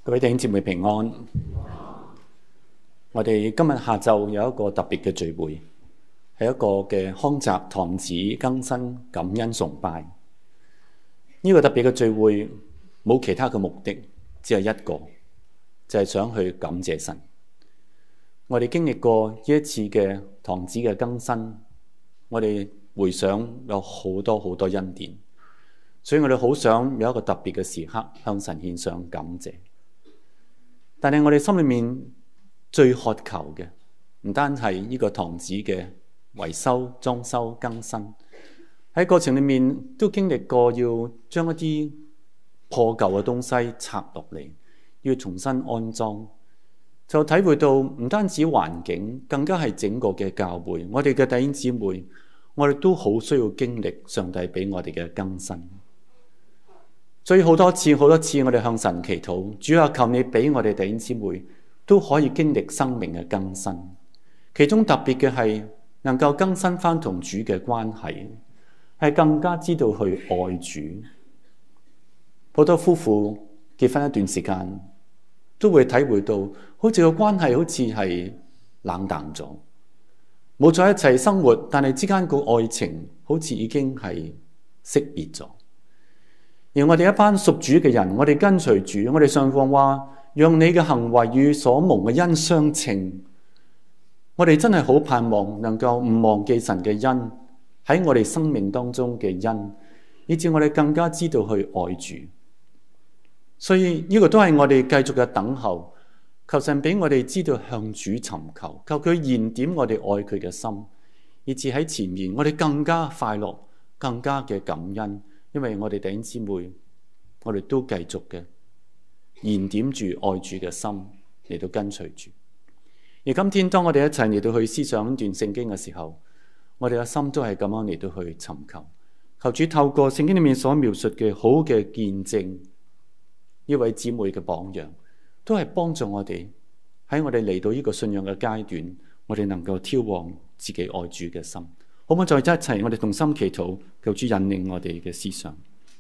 各位弟兄姊妹平安。我哋今日下晝有一個特別嘅聚會，係一個嘅康澤堂子更新感恩崇拜。呢個特別嘅聚會冇其他嘅目的，只係一個，就係想去感謝神。我哋經歷過呢一次嘅堂子嘅更新，我哋回想有好多好多恩典，所以我哋好想有一個特別嘅時刻向神獻上感謝。但係我哋心裏面最渴求嘅，唔單係呢個堂子嘅維修、裝修、更新，喺過程裏面都經歷過要將一啲破舊嘅東西拆落嚟，要重新安裝，就體會到唔單止環境，更加係整個嘅教會，我哋嘅弟兄姊妹，我哋都好需要經歷上帝俾我哋嘅更新。所以好多次我哋向神祈禱，主啊，求你俾我哋弟兄姊妹都可以經歷生命嘅更新。其中特別嘅係能夠更新翻同主嘅關係，係更加知道去愛主。好多夫婦結婚一段時間，都會體會到好似個關係好似係冷淡咗，冇在一齊生活，但係之間個愛情好似已經係熄滅咗。而我哋一班屬主嘅人，我哋跟隨主，我哋上方話，讓你嘅行為與所蒙嘅恩相稱。我哋真係好盼望能夠唔忘記神嘅恩喺我哋生命當中嘅恩，以致我哋更加知道去愛主。所以呢個都係我哋繼續嘅等候，求神俾我哋知道向主尋求，求佢燃點我哋愛佢嘅心，以致喺前面我哋更加快樂，更加嘅感恩。因為我哋弟兄姊妹，我哋都繼續嘅燃點住愛主嘅心嚟到跟隨主。而今天當我哋一齊嚟到去思想一段聖經嘅時候，我哋嘅心都係咁樣嚟到去尋求，求主透過聖經裏面所描述嘅好嘅見證，呢位姊妹嘅榜樣，都係幫助我哋喺我哋嚟到呢個信仰嘅階段，我哋能夠挑旺自己愛主嘅心。好唔好再一齊，我哋同心祈禱，求主引領我哋嘅思想。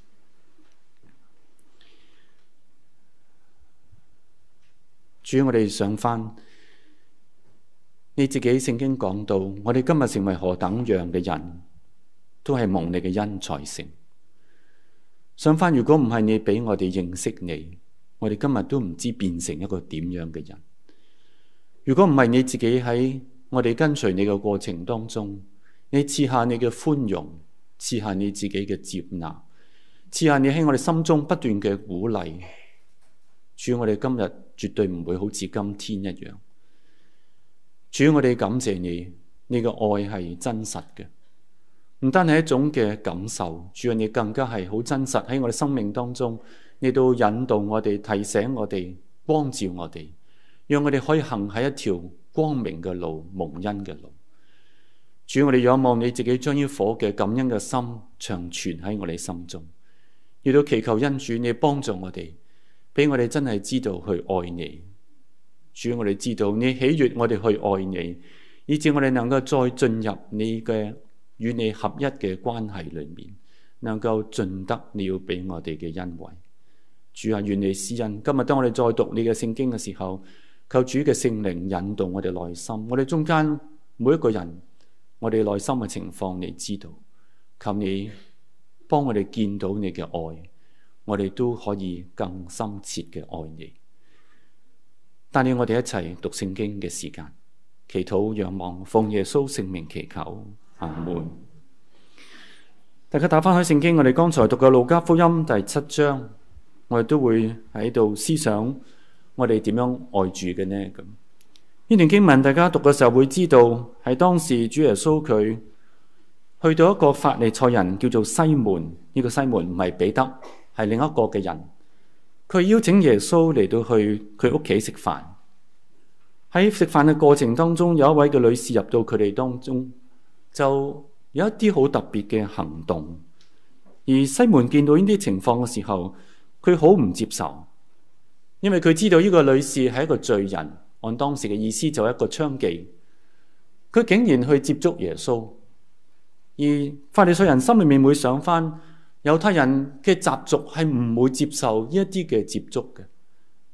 主，我哋想翻你自己聖經講到，我哋今日成為何等樣嘅人，都係蒙你嘅恩才成。想翻，如果唔係你俾我哋認識你，我哋今日都唔知變成一個點樣嘅人。如果唔係你自己喺我哋跟隨你嘅過程當中，你賜下你嘅寬容，賜下你自己嘅接納，賜下你喺我哋心中不斷嘅鼓勵。主，我哋今日絕對唔會好似今天一樣。主，我哋感謝你，你嘅愛係真實嘅，唔單係一種嘅感受。主啊，你更加係好真實喺我哋生命當中，你都引導我哋，提醒我哋，光照我哋，讓我哋可以行喺一條光明嘅路，蒙恩嘅路。主，我哋仰望你自己將呢顆嘅感恩嘅心長存喺我哋心中，亦都祈求恩主你幫助我哋，俾我哋真係知道去愛你。主，我哋知道你喜悅我哋去愛你，以致我哋能夠再進入你嘅與你合一嘅關係裏面，能夠盡得你要俾我哋嘅恩惠。主啊，願你施恩。今日當我哋再讀你嘅聖經嘅時候，求主嘅聖靈引導我哋內心，我哋中間每一個人，我哋內心嘅情況你知道，求你幫我哋見到你嘅愛，我哋都可以更深切嘅愛你。帶領我哋一齊讀聖經嘅時間，祈禱仰望奉耶穌聖名祈求，阿門。大家打翻開聖經，我哋剛才讀嘅路加福音第7章，我哋都會喺度思想我哋點樣愛主嘅呢？咁呢段經文大家讀嘅時候會知道，係當時主耶穌佢去到一個法利賽人叫做西門，呢個西門唔係彼得，係另一個嘅人。佢邀請耶穌嚟到去佢屋企食飯。喺食飯嘅過程當中，有一位嘅女士入到佢哋當中，就有一啲好特別嘅行動。而西門見到呢啲情況嘅時候，佢好唔接受，因為佢知道呢個女士係一個罪人。按當時嘅意思就係一個娼妓，佢竟然去接觸耶穌。而法利賽人心裏面會想翻，猶太人嘅習俗係唔會接受呢一啲嘅接觸嘅。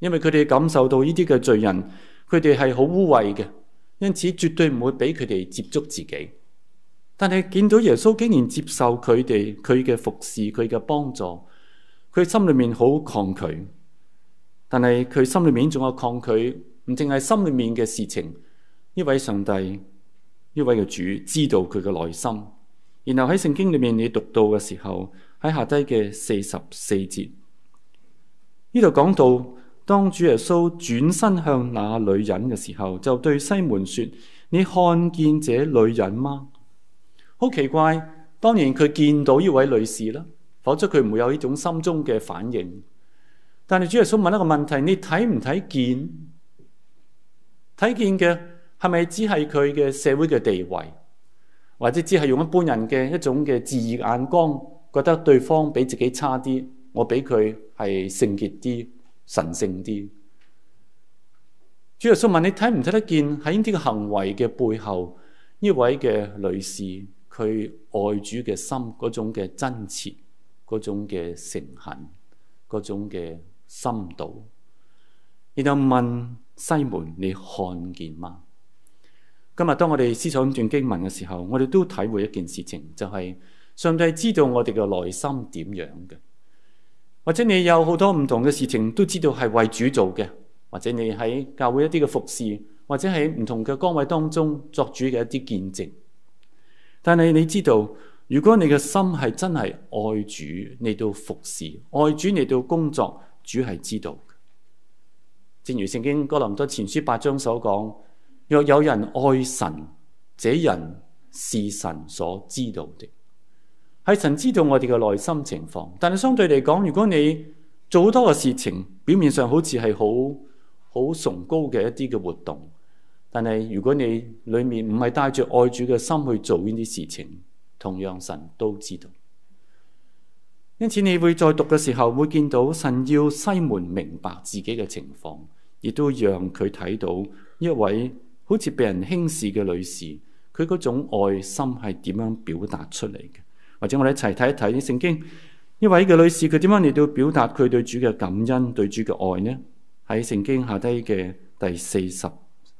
因為佢哋感受到呢啲嘅罪人，佢哋係好污穢嘅，因此絕對唔會俾佢哋接觸自己。但係見到耶穌竟然接受佢哋，佢嘅服侍，佢嘅幫助，佢心裏面好抗拒。但係佢心裏面仲有抗拒，唔淨係心裏面嘅事情。呢位上帝，呢位嘅主知道佢嘅內心。然後喺聖經裏面你讀到嘅時候，喺下低嘅44節，呢度講到當主耶穌轉身向那女人嘅時候，就對西門說：你看見這女人嗎？好奇怪，當然佢見到呢位女士啦，否則佢唔會有呢種心中嘅反應。但係主耶穌問一個問題：你睇唔睇見？睇見嘅係咪只係佢嘅社會嘅地位，或者只係用一般人嘅一種嘅自義眼光，覺得對方比自己差啲，我比佢係聖潔啲、神聖啲？主耶穌問你睇唔睇得見喺呢啲嘅行為嘅背後，呢位嘅女士佢愛主嘅心嗰種嘅真切、嗰種嘅誠懇、嗰種嘅深度，然後問西門：你看見嗎？今日當我哋思想呢段經文嘅時候，我哋都體會一件事情，就係上帝知道我哋嘅內心點樣嘅。或者你有好多唔同嘅事情都知道係為主做嘅，或者你喺教會一啲嘅服侍，或者喺唔同嘅崗位當中作主嘅一啲見證。但係你知道，如果你嘅心係真係愛主，你到服侍，愛主你到工作，主係知道嘅。正如聖經哥林多前書8章所講：若有人愛神，這人是神所知道的。係神知道我哋嘅內心情況，但係相對嚟講，如果你做好多嘅事情，表面上好似係好崇高嘅一啲嘅活動，但係如果你裏面唔係帶着愛主嘅心去做呢啲事情，同樣神都知道。因此你會在讀嘅時候會見到神要西門明白自己嘅情況，亦都讓佢睇到一位好似被人輕視嘅女士，佢嗰種愛心係點樣表達出嚟嘅。或者我哋一齊睇一睇聖經，呢位嘅女士佢點樣嚟到表達佢對主嘅感恩、對主嘅愛呢？喺聖經下低嘅第44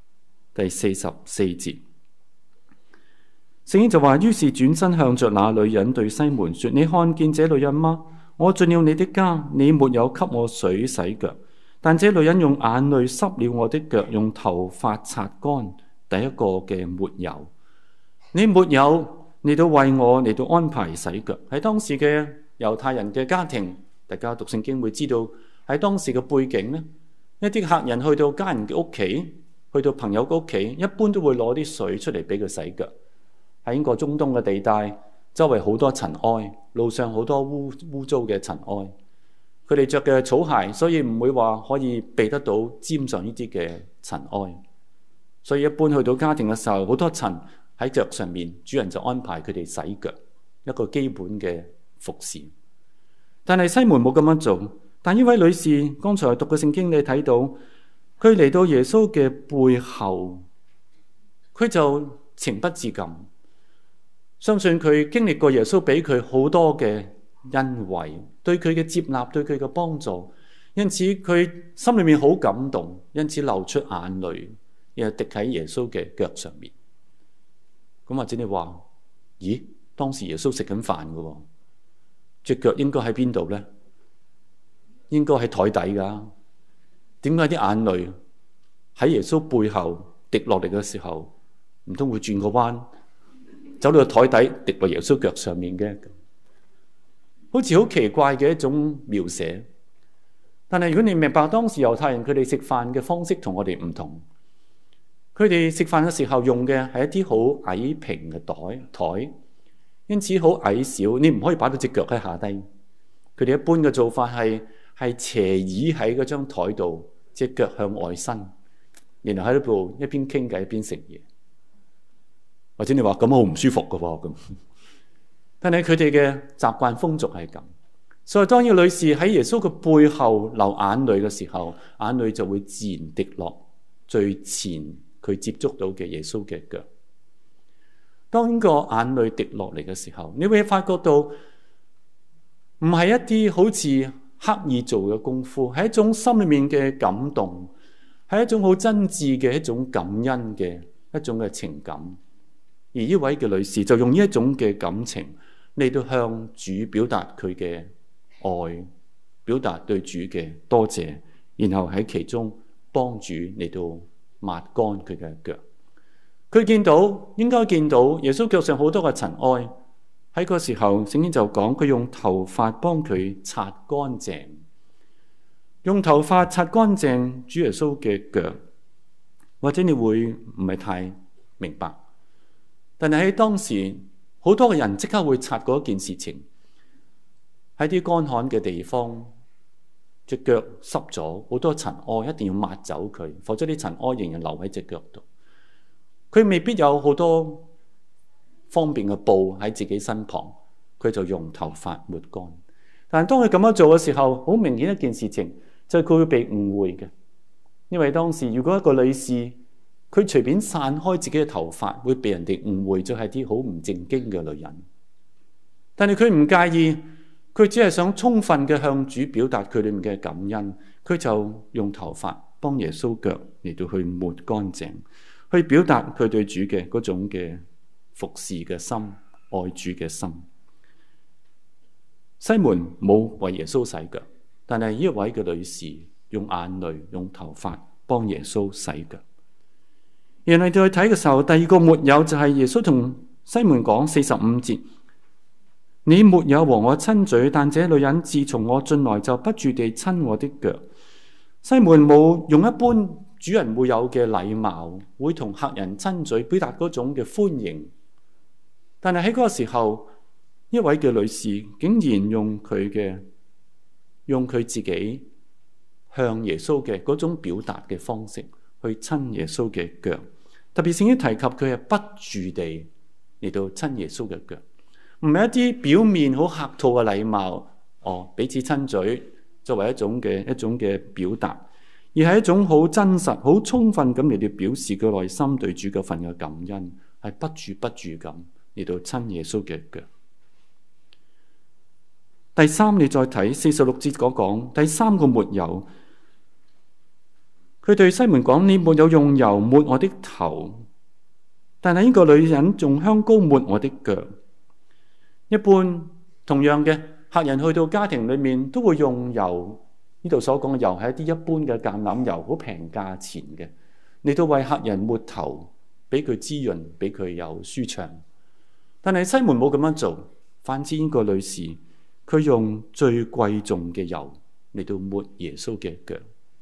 節，聖經就話：於是轉身向着那女人對西門說：你看見這女人嗎？我進了你的家，你沒有給我水洗腳，但這女人用眼淚濕了我的腳，用頭髮擦乾第一個嘅抹油。你沒有嚟到為我嚟到安排洗腳。喺當時嘅猶太人嘅家庭，大家讀聖經會知道喺當時嘅背景呢，一啲客人去到家人嘅屋企，去到朋友嘅屋企，一般都會攞啲水出嚟俾佢洗腳。喺呢個中東嘅地帶，周圍好多塵埃，路上好多污糟嘅塵埃。佢哋着嘅草鞋，所以唔會話可以避得到沾上呢啲嘅塵埃。所以一般去到家庭嘅時候，好多塵喺腳上面，主人就安排佢哋洗腳，一個基本嘅服侍。但係西門冇咁樣做。但呢位女士剛才讀嘅聖經，你睇到佢嚟到耶穌嘅背後，佢就情不自禁，相信佢經歷過耶穌俾佢好多嘅恩惠，對佢嘅接納，對佢嘅幫助，因此佢心裏面好感動，因此流出眼淚，然後滴喺耶穌嘅腳上面。咁或者你話：咦，當時耶穌食緊飯㗎，隻腳應該喺邊度呢？應該喺台底㗎。點解啲眼淚喺耶穌背後滴落嚟嘅時候，唔通會轉個彎，走到個台底滴落耶穌腳上面嘅？好似好奇怪嘅一種描寫。但係如果你明白當時猶太人佢哋食飯嘅方式同我哋唔同，佢哋食飯嘅時候用嘅係一啲好矮平嘅台，因此好矮小，你唔可以擺到隻腳喺下低。佢哋一般嘅做法係斜倚喺嗰張台度，隻腳向外伸，然後喺度一邊傾偈一邊食嘢。或者你話咁好唔舒服㗎喎咁，但係佢哋嘅習慣風俗係咁。所以當呢個女士喺耶穌嘅背後流眼淚嘅時候，眼淚就會自然滴落最前佢接觸到嘅耶穌嘅腳。當個眼淚滴落嚟嘅時候，你會發覺到唔係一啲好似刻意做嘅功夫，係一種心裏面嘅感動，係一種好真摯嘅一種感恩嘅一種嘅情感。而呢位嘅女士就用呢一種嘅感情嚟到向主表達佢嘅愛，表達對主嘅多謝，然後喺其中幫主嚟到抹乾佢嘅腳。佢應該見到耶穌腳上好多嘅塵埃。喺個時候，聖經就講佢用頭髮幫佢擦乾淨，用頭髮擦乾淨主耶穌嘅腳。或者你會唔係太明白，但係喺當時，好多嘅人即刻會擦嗰件事情。喺啲乾旱嘅地方，隻腳濕咗，好多塵埃，一定要抹走佢，否則啲塵埃仍然留喺隻腳度。佢未必有好多方便嘅布喺自己身旁，佢就用頭髮抹乾。但係當佢咁樣做嘅時候，好明顯一件事情就係佢會被誤會嘅。因為當時如果一個女士佢隨便散開自己嘅頭髮，會被人哋誤會咗係啲好唔正經嘅女人。但係佢唔介意，佢只係想充分嘅向主表達佢裏面嘅感恩，佢就用頭髮幫耶穌腳嚟到去抹乾淨，去表達佢對主嘅嗰種嘅服侍嘅心、愛主嘅心。西門冇為耶穌洗腳，但係呢一位嘅女士用眼淚、用頭髮幫耶穌洗腳。原來再去睇嘅時候，第二個沒有就係耶穌同西門講45節：你沒有和我親嘴，但這女人自從我進來就不住地親我的腳。西門冇用一般主人會有嘅禮貌，會同客人親嘴，表達嗰種嘅歡迎。但係喺嗰個時候，一位嘅女士竟然用佢自己向耶穌嘅嗰種表達嘅方式去親耶穌嘅腳。特別聖經提及佢係不住地嚟到親耶穌嘅腳，唔係一啲表面好客套嘅禮貌，彼此親嘴作為一種嘅表達，而係一種好真實、好充分咁嚟到表示佢內心對主嗰份嘅感恩，係不住咁嚟到親耶穌嘅腳。第三，你再睇46節嗰講，第三個沒有。佢對西門講：你沒有用油抹我的頭，但係呢個女人用香膏抹我的腳。一般同樣嘅客人去到家庭裏面都會用油，呢度所講嘅油係一啲一般嘅橄欖油，好平價錢嘅，嚟到為客人抹頭，俾佢滋潤，俾佢有舒暢。但係西門冇咁樣做，反之呢個女士佢用最貴重嘅油嚟到抹耶穌嘅腳。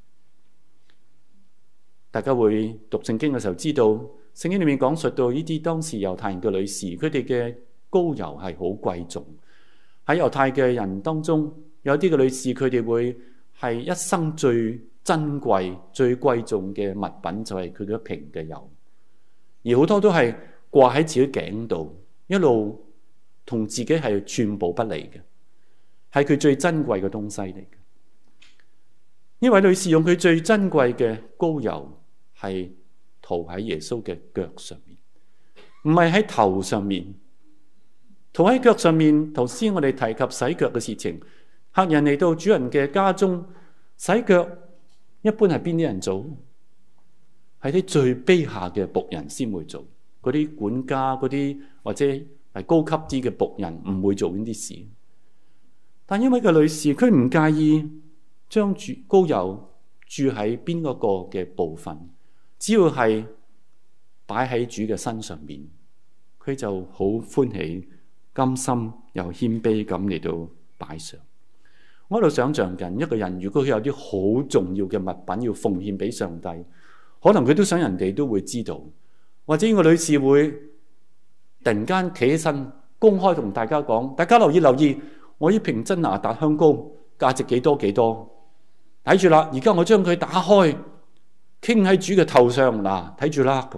大家會讀聖經嘅時候知道，聖經裏面講述到呢啲當時猶太人嘅女士，佢哋嘅膏油係好貴重。喺猶太嘅人當中，有啲嘅女士佢哋會係一生最珍貴、最貴重嘅物品就係佢嘅一瓶嘅油，而好多都係掛喺自己頸度，一路同自己係寸步不離嘅，係佢最珍貴嘅東西嚟嘅。呢位女士用佢最珍貴嘅膏油，係塗喺耶穌嘅腳上面，唔係喺頭上面。塗喺腳上面，頭先我哋提及洗腳嘅事情，客人嚟到主人嘅家中洗腳，一般係邊啲人做？係啲最卑下嘅僕人先會做，嗰啲管家、嗰啲或者係高級啲嘅僕人唔會做呢啲事。但因為個女士佢唔介意將膏油注喺邊一個嘅部分，只要係擺喺主嘅身上面，佢就好歡喜、甘心又謙卑咁嚟到擺上。我喺度想象緊一個人，如果佢有啲好重要嘅物品要奉獻俾上帝，可能佢都想人哋都會知道，或者呢個女士會突然間企起身，公開同大家講：大家留意，我呢瓶真哪噠香膏價值幾多，睇住啦！而家我將佢打開，傾喺主嘅頭上嗱，睇住啦。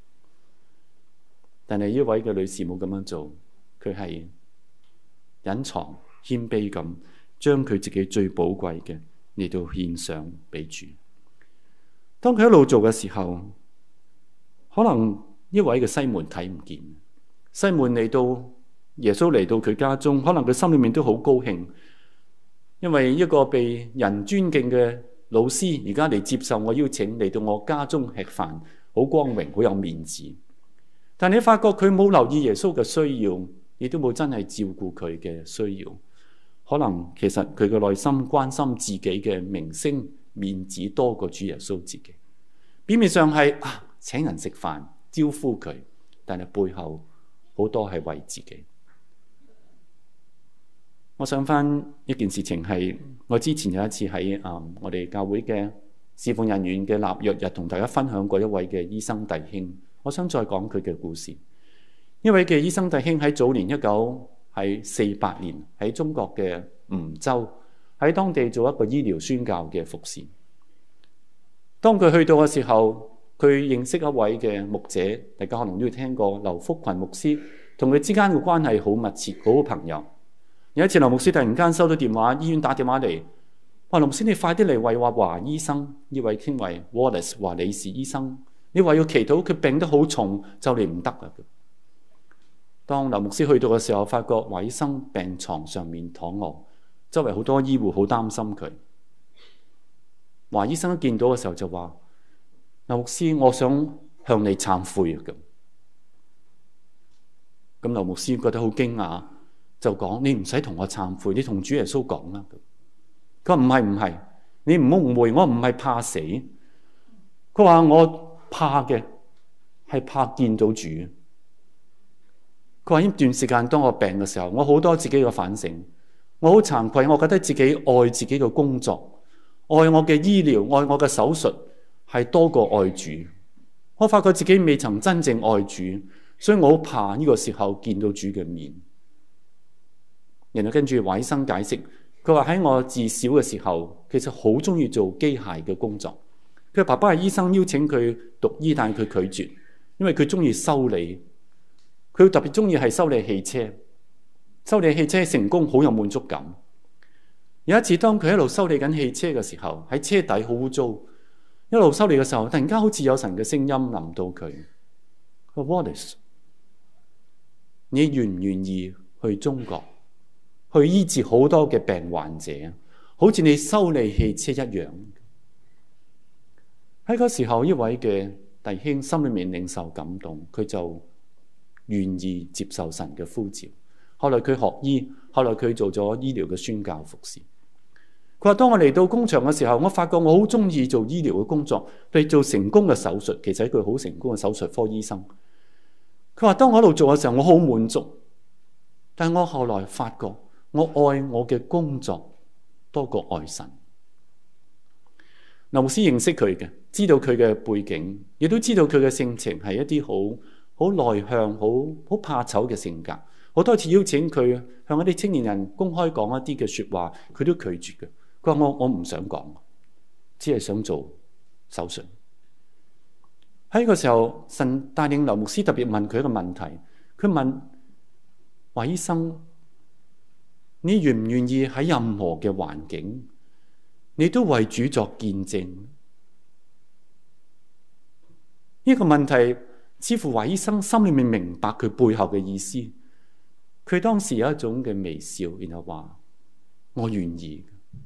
但係呢位嘅女士冇咁樣做，佢係隱藏謙卑咁，將佢自己最寶貴嘅嚟到獻上俾主。當佢一路做嘅時候，可能呢位嘅西門睇唔見。西門嚟到耶穌嚟到佢家中，可能佢心裏面都好高興。 因為一個被人尊敬嘅老師而家嚟接受我邀請嚟到我家中吃飯，好光榮，好有面子。但你發覺佢冇留意耶穌嘅需要，亦都冇真係照顧佢嘅需要。可能其實佢嘅內心關心自己嘅名聲面子多過主耶穌自己。表面上係請人食飯招呼佢，但係背後好多係為自己。我想翻一件事情係，我之前有一次喺我哋教會嘅侍奉人員嘅立約日同大家分享過一位嘅醫生弟兄。我想再講佢嘅故事。一位嘅醫生弟兄喺早年1948年喺中國嘅梧州喺當地做一個醫療宣教嘅服侍。當佢去到嘅時候，佢認識一位嘅牧者，大家可能都要聽過劉福群牧師，同佢之間嘅關係好密切，好好朋友。有一次劉牧師突然間收到電話，醫院打電話嚟，話劉牧師，你快啲嚟為華醫生，呢位稱為 Wallace 華理士醫生，你話要祈禱，佢病得好重，就嚟唔得啦。當劉牧師去到嘅時候，發覺華醫生病床上面躺臥，周圍好多醫護好擔心佢。華醫生一見到嘅時候就話：劉牧師，我想向你懺悔啊！咁劉牧師覺得好驚訝，就講：你唔使同我懺悔，你同主耶穌講啦。佢話唔係，你唔好誤會，我唔係怕死。佢話我怕嘅係怕見到主。佢話呢段時間當我病嘅時候，我好多自己嘅反省，我好慚愧，我覺得自己愛自己嘅工作，愛我嘅醫療，愛我嘅手術係多過愛主。我發覺自己未曾真正愛主，所以我好怕呢個時候見到主嘅面。然後跟住華醫生解釋，佢話喺我自小嘅時候，其實好中意做機械嘅工作。佢爸爸係醫生，邀請佢讀醫，但係佢拒絕，因為佢中意修理。佢特別中意係修理汽車，修理汽車成功好有滿足感。有一次當佢一路修理緊汽車嘅時候，喺車底好污糟，一路修理嘅時候，突然間好似有神嘅聲音臨到佢。佢話 Wallace， 你願唔願意去中國去醫治好多嘅病患者，好似你修理汽車一樣？喺嗰時候，一位嘅弟兄心裏面領受感動，佢就願意接受神嘅呼召。後來佢學醫，後來佢做咗醫療嘅宣教服侍。佢話：當我嚟到工場嘅時候，我發覺我好中意做醫療嘅工作，譬如做成功嘅手術。其實係一個好成功嘅手術科醫生。佢話：當我喺度做嘅時候，我好滿足。但係我後來發覺，我愛我嘅工作多過愛神。劉牧師認識佢嘅，知道佢嘅背景，亦都知道佢嘅性情係一啲好內向、好怕醜嘅性格。好多次邀請佢向一啲青年人公開講一啲嘅說話，佢都拒絕嘅。佢話我唔想講，只係想做手術。喺呢個時候，神帶領劉牧師特別問佢一個問題。佢問華醫生：你願唔願意喺任何嘅環境，你都為主作見證？呢個問題似乎華醫生心裏面明白佢背後嘅意思。佢當時有一種嘅微笑，然後話：我願意。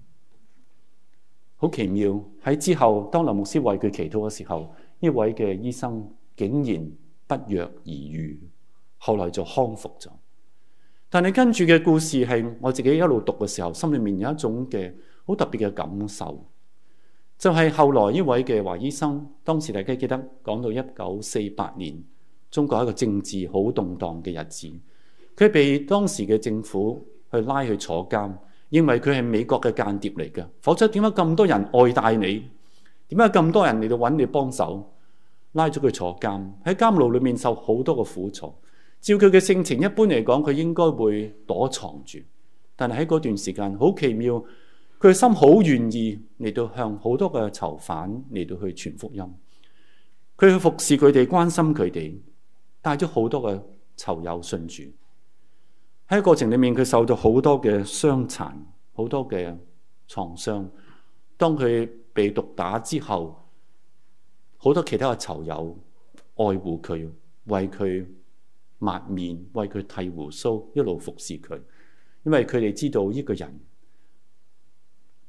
好奇妙，喺之後當劉牧師為佢祈禱嘅時候，呢位嘅醫生竟然不藥而愈，後來就康復咗。但係跟住嘅故事係我自己一路讀嘅時候，心裏面有一種嘅好特別嘅感受，就係後來呢位嘅華醫生，當時大家記得講到1948年，中國一個政治好動盪嘅日子，佢被當時嘅政府去拉去坐監，認為佢係美國嘅間諜嚟嘅，否則點解咁多人愛戴你？點解咁多人嚟到揾你幫手？拉咗佢坐監，喺監牢裏面受好多嘅苦楚。照佢嘅性情，一般嚟講，佢應該會躲藏住。但係喺嗰段時間，好奇妙，佢嘅心好願意嚟到向好多嘅囚犯嚟到去傳福音。佢去服侍佢哋，關心佢哋，帶咗好多嘅囚友信主。喺過程裏面，佢受到好多嘅傷殘，好多嘅創傷。當佢被毒打之後，好多其他嘅囚友愛護佢，為佢抹面，為佢剃鬍鬚，一路服侍佢。因為佢哋知道呢個人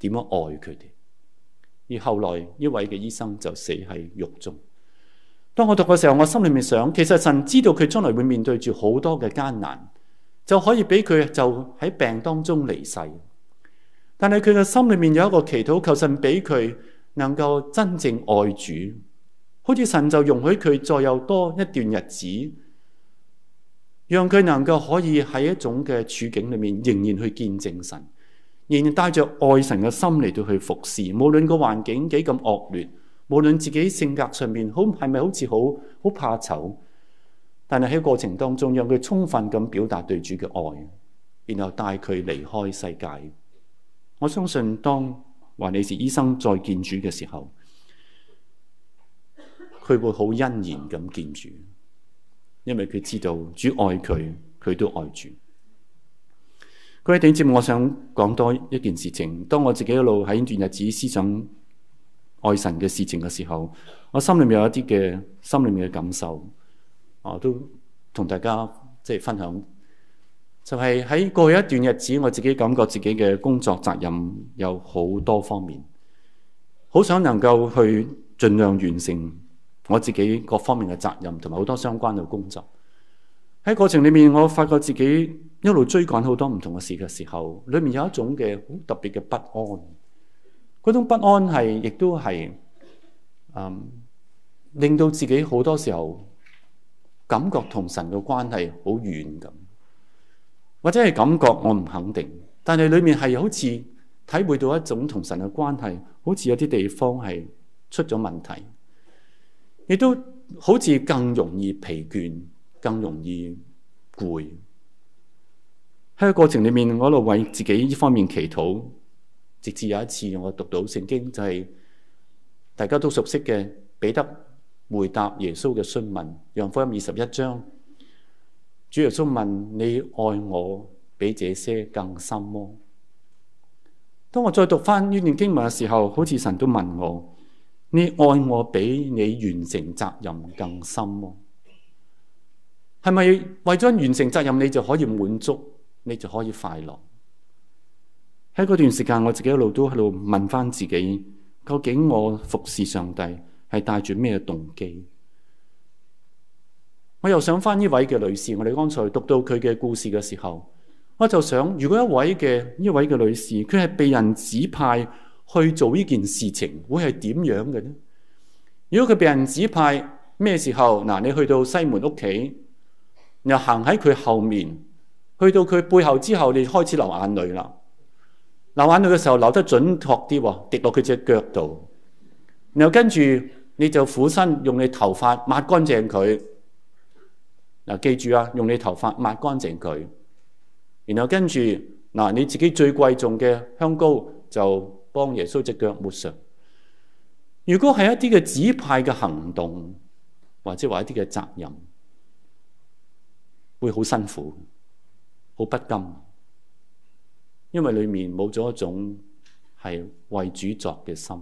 點樣愛佢哋。而後來一位嘅醫生就死喺獄中。當我讀嘅時候，我心裏面想，其實神知道佢將來會面對住好多嘅艱難，就可以俾佢就喺病當中離世。但係佢嘅心裏面有一個祈禱，求神俾佢能夠真正愛主，好似神就容許佢再有多一段日子，讓佢能夠可以喺一種嘅處境裏面仍然去見證神，仍然帶着愛神嘅心嚟到去服侍，無論個環境幾咁惡劣，無論自己性格上面係咪好似好怕醜，但係喺過程當中讓佢充分咁表達對主嘅愛，然後帶佢離開世界。我相信當華理士醫生再見主嘅時候，佢會好欣然咁見主，因為佢知道主愛佢，佢都愛主。各位弟兄姊妹，我想講多一件事情。當我自己一路喺段日子思想愛神嘅事情嘅時候，我心裏面有一啲嘅心裏面嘅感受，我都同大家分享。就係喺過去一段日子，我自己感覺自己嘅工作責任有好多方面，好想能夠去盡量完成我自己各方面嘅責任，同埋好多相關嘅工作。喺過程裏面，我發覺自己一路追趕好多唔同嘅事嘅時候，裏面有一種嘅好特別嘅不安。嗰種不安亦都係令到自己好多時候感覺同神嘅關係好遠咁。或者係感覺我唔肯定，但係裏面係好似體會到一種同神嘅關係，好似有啲地方係出咗問題，亦都好似更容易疲倦，更容易攰。喺個過程裏面，我一路為自己呢方面祈禱，直至有一次我讀到聖經，就係大家都熟悉嘅彼得回答耶穌嘅詢問，約翰福音21章。主耶穌問：你愛我比這些更深麼？當我再讀翻呢段經文嘅時候，好似神都問我：你愛我比你完成責任更深麼？係咪為咗完成責任你就可以滿足，你就可以快樂？喺嗰段時間，我自己一路都喺度問翻自己：究竟我服侍上帝係帶住咩動機？我又想翻呢位嘅女士，我哋剛才讀到佢嘅故事嘅時候，我就想，如果呢位嘅女士，佢係被人指派去做呢件事情，會係點樣嘅呢？如果佢被人指派咩時候？嗱，你去到西門屋企，又行喺佢後面，去到佢背後之後，你開始流眼淚啦。流眼淚嘅時候，流得準確啲，滴落佢隻腳度，然後跟住你就俯身用你頭髮抹乾淨佢。嗱，記住啊，用你頭髮抹乾淨佢，然後跟住嗱，你自己最貴重嘅香膏就幫耶穌隻腳抹上。如果係一啲嘅指派嘅行動，或者話一啲嘅責任，會好辛苦，好不甘，因為裏面冇咗一種係為主作嘅心。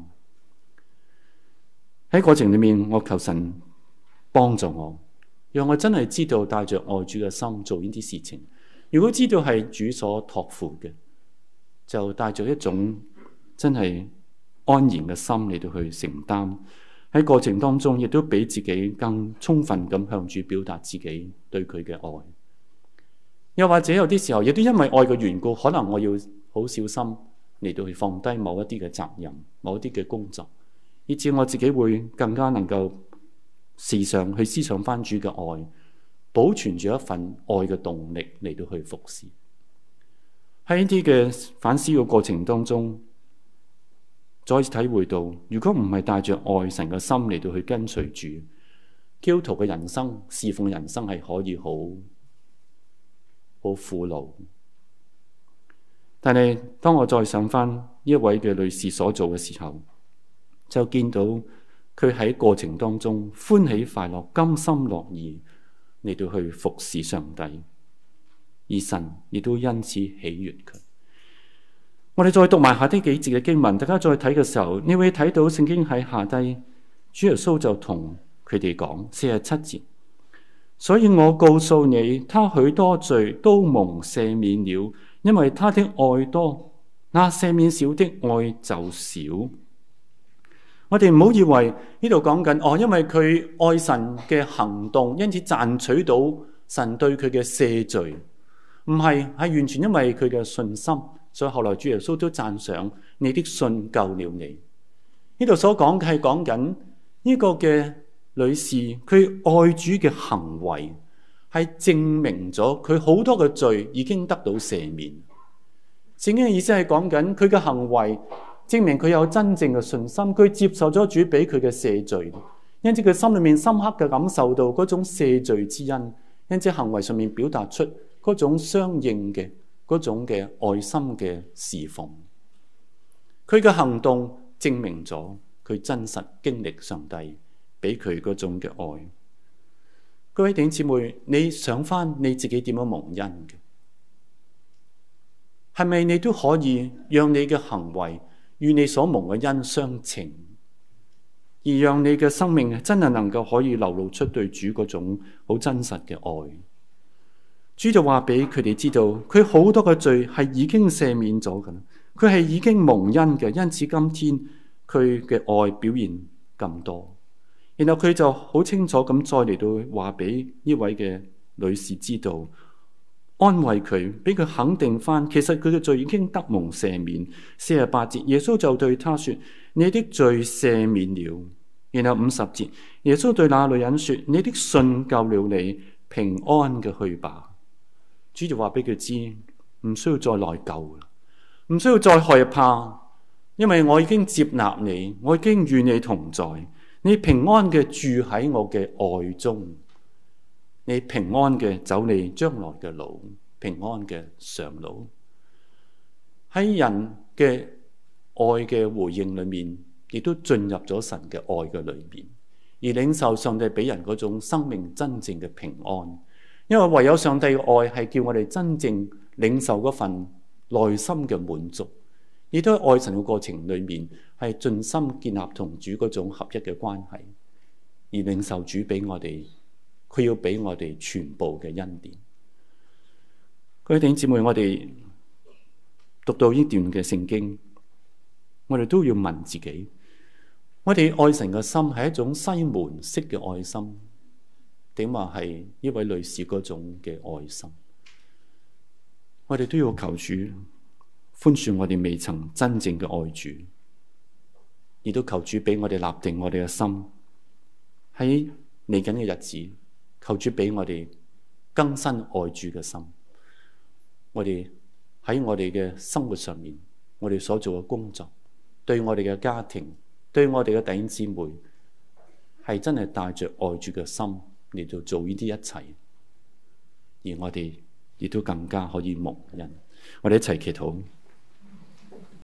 喺過程裏面，我求神幫助我。讓我真係知道帶着愛主嘅心做呢啲事情。如果知道係主所託付嘅，就帶着一種真係安然嘅心嚟到去承擔。喺過程當中，亦都俾自己更充分咁向主表達自己對佢嘅愛。又或者有啲時候，亦都因為愛嘅緣故，可能我要好小心嚟到去放低某一啲嘅責任、某一啲嘅工作，以至我自己會更加能夠時常去思想翻主嘅愛，保存住一份愛嘅動力嚟到去服侍。喺呢啲嘅反思嘅過程當中，再次體會到，如果唔係帶着愛神嘅心嚟到去跟隨主，基督徒嘅人生、侍奉嘅人生係可以好苦惱。但係當我再想翻一位嘅女士所做嘅時候，就見到佢喺過程當中歡喜快樂、甘心樂意嚟到去服侍上帝，而神亦都因此喜悅佢。我哋再讀埋下啲幾節嘅經文，大家再睇嘅時候，你會睇到聖經喺下低，主耶穌就同佢哋講47節，所以我告訴你，他許多罪都蒙赦免了，因為他的愛多。 那赦免少的愛就少。我哋唔好以為呢度講緊因為佢愛神嘅行動，因此賺取到神對佢嘅赦罪，唔係，係完全因為佢嘅信心。所以後來主耶穌都讚賞你的信救了你。呢度所講嘅係講緊呢個嘅女士，佢愛主嘅行為係證明咗佢好多嘅罪已經得到赦免。聖經嘅意思係講緊佢嘅行為證明佢有真正嘅信心，佢接受咗主俾佢嘅赦罪，因此佢心裏面深刻嘅感受到嗰種赦罪之恩，因此行為上面表達出嗰種相應嘅嗰種嘅愛心嘅侍奉。佢嘅行動證明咗佢真實經歷上帝俾佢嗰種嘅愛。各位弟兄姊妹，你想翻你自己點樣蒙恩嘅？係咪你都可以讓你嘅行為與你所蒙嘅恩相稱，而讓你嘅生命真係能夠可以流露出對主嗰種好真實嘅愛？主就話俾佢哋知道，佢好多嘅罪係已經赦免咗噶啦，佢係已經蒙恩嘅，因此今天佢嘅愛表現咁多。然後佢就好清楚咁再嚟到話俾呢位嘅女士知道，安慰佢，俾佢肯定翻，其實佢嘅罪已經得蒙赦免。48節，耶穌就對他說：你的罪赦免了。然後50節，耶穌對那女人說：你的信救了你，平安嘅去吧。主就話俾佢知，唔需要再內疚啦，唔需要再害怕，因為我已經接納你，我已經與你同在，你平安嘅住喺我嘅愛中，你平安嘅走你將來嘅路，平安嘅上路。喺人嘅愛嘅回應裏面，亦都進入咗神嘅愛嘅裏面，而領受上帝俾人嗰種生命真正嘅平安。因為唯有上帝嘅愛係叫我哋真正領受嗰份內心嘅滿足，亦都喺愛神嘅過程裏面係盡心建立同主嗰種合一嘅關係，而領受主俾我哋，佢要俾我哋全部嘅恩典。各位弟兄姊妹，我哋讀到呢段嘅聖經，我哋都要問自己，我哋愛神嘅心係一種西門式嘅愛心，定話係呢位女士嗰種嘅愛心？我哋都要求主寬恕我哋未曾真正嘅愛主，亦都求主俾我哋立定我哋嘅心，喺嚟緊嘅日子，求主俾我哋更新愛主嘅心。我哋喺我哋嘅生活上面，我哋所做嘅工作，對我哋嘅家庭，對我哋嘅弟兄姊妹，係真係帶着愛主嘅心嚟到做呢啲一切，而我哋亦都更加可以蒙恩。我哋一齊祈禱。